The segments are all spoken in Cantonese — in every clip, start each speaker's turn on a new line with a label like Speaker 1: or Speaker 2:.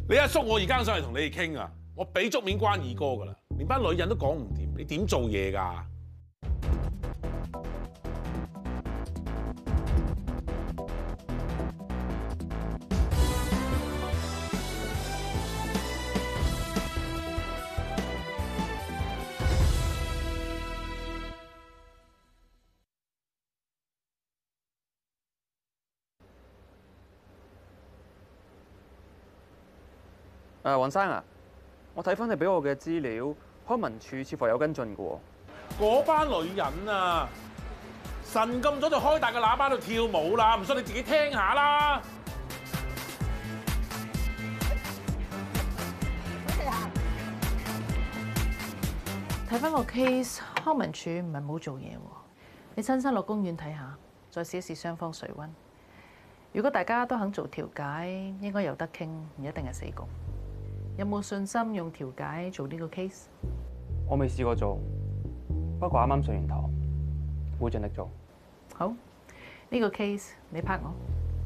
Speaker 1: 你阿叔我而家上嚟同你哋傾啊，我俾足面關二哥噶啦，連班女人都講唔掂，你點做嘢㗎？
Speaker 2: 黃生啊，我睇翻你俾我嘅資料，康文署似乎有跟進嘅喎。
Speaker 1: 嗰班女人啊，神咁早就開大個喇叭度跳舞啦，唔信你自己聽下啦。
Speaker 3: 睇翻個 case， 康文署唔係冇做嘢喎。你親身落公園睇下，再試一試雙方水溫。如果大家都肯做調解，應該有得傾，唔一定係死局。有冇信心用調解做呢個 case？
Speaker 2: 我未試過做，不過啱啱上完堂，會盡力做。
Speaker 3: 好，呢個 case 你拍我。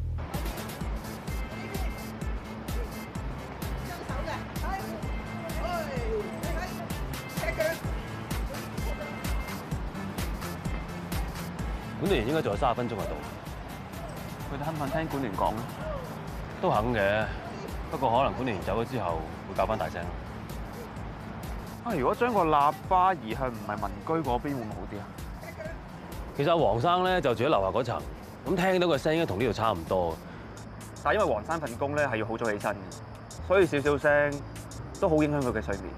Speaker 4: 管理員應該仲有30分鐘喺度。
Speaker 2: 佢哋肯唔肯聽管聯講咧？
Speaker 4: 都肯嘅，不過可能管理員走咗之後會較翻大聲。
Speaker 2: 如果將個喇叭移向唔係民居嗰邊，會唔會好啲啊？
Speaker 4: 其實阿黃生咧就住喺樓下嗰層，咁聽到個聲應該同呢度差唔多。
Speaker 2: 但係因為黃生份工咧係要好早起身嘅，所以少少聲都好影響佢嘅睡眠。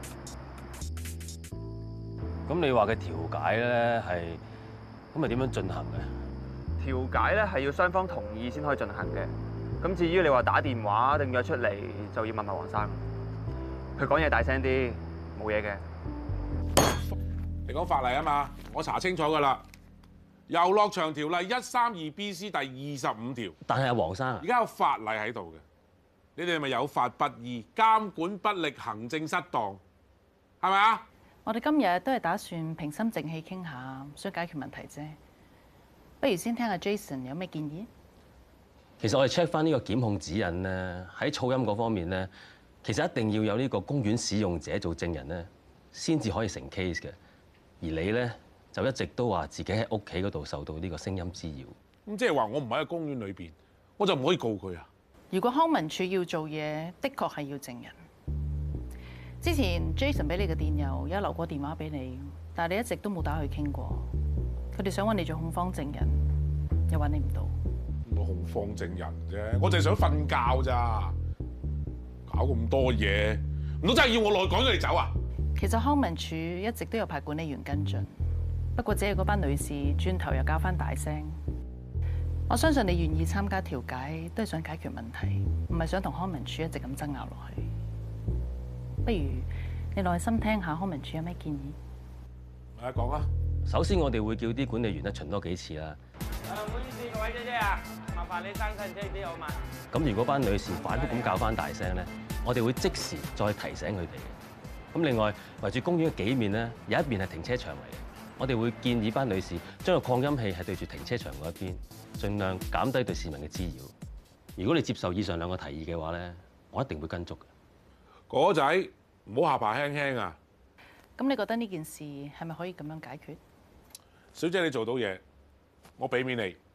Speaker 4: 咁你話嘅調解咧係咁係點樣進行嘅？
Speaker 2: 調解咧係要雙方同意先可以進行嘅。咁至於你話打電話定約出嚟，就要問下黃生。佢講嘢大聲啲，冇嘢嘅。
Speaker 1: 你講法例啊嘛，我查清楚㗎啦。遊樂場條例132BC 第25條。
Speaker 4: 但係阿黃生，
Speaker 1: 而家有法例喺度嘅，你哋係咪有法不依、監管不力、行政失當，係咪啊？
Speaker 3: 我哋今日都係打算平心靜氣傾下，想解決問題啫。不如先聽下 Jason 有咩建議？
Speaker 4: 其實我哋 check 翻呢個檢控指引咧，喺噪音嗰方面咧，其實一定要有呢個公園使用者做證人咧，先至可以成 case 嘅。而你咧就一直都話自己喺屋企嗰度受到呢個聲音滋擾。
Speaker 1: 咁即係話我唔喺個公園裏邊，我就唔可以告佢啊？
Speaker 3: 如果康文署要做嘢，的確係要證人。之前 Jason 俾你嘅電郵有留過電話俾你，但係你一直都冇打去傾過。佢哋想揾你做控方證人，又揾你唔到。
Speaker 1: 我控方證人啫，我淨係想瞓覺咋，搞咁多嘢，唔通真係要我落去趕佢哋走啊？
Speaker 3: 其實康文署一直都有派管理員跟進，不過只係嗰班女士轉頭又搞翻大聲。我相信你願意參加調解，都係想解決問題，唔係想同康文署一直咁爭拗落去。不如你耐心聽下康文署有咩建議。
Speaker 1: 嚟講啊！
Speaker 4: 首先我哋會叫啲管理員咧巡多幾次啦。
Speaker 5: 唔好意思，各位姐姐啊，麻煩你生身車啲好嘛？
Speaker 4: 咁如果班女士反覆咁較翻大聲咧，我哋會即時再提醒佢哋嘅。咁另外圍住公園嘅幾面咧，有一面係停車場嚟嘅，我哋會建議班女士將個擴音器係對住停車場嗰一邊，盡量減低對市民嘅滋擾。如果你接受以上兩個提議嘅話咧，我一定會跟足嘅。
Speaker 1: 果仔唔好下巴輕輕啊！
Speaker 3: 咁你覺得呢件事係咪可以咁樣解決？
Speaker 1: 小姐你做到嘢，我俾面你。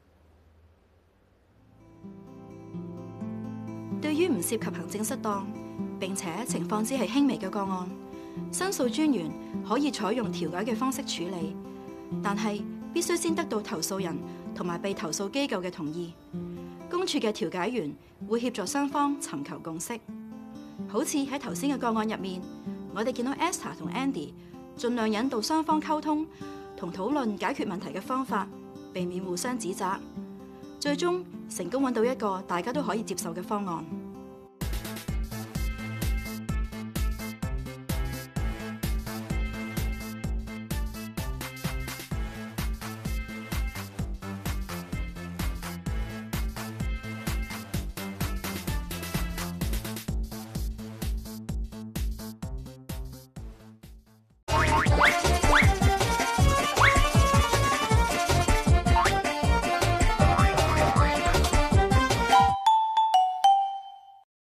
Speaker 6: 對於唔涉及行政失當並且情況只係輕微嘅個案，申訴專員可以採用調解嘅方式處理，但係必須先得到投訴人同埋被投訴機構嘅同意。公署嘅調解員會協助雙方尋求共識。好似喺頭先嘅個案入面，我哋見到 Esther 同 Andy 盡量引導雙方溝通同討論解決問題嘅方法，避免互相指責，最終成功揾到一個大家都可以接受嘅方案。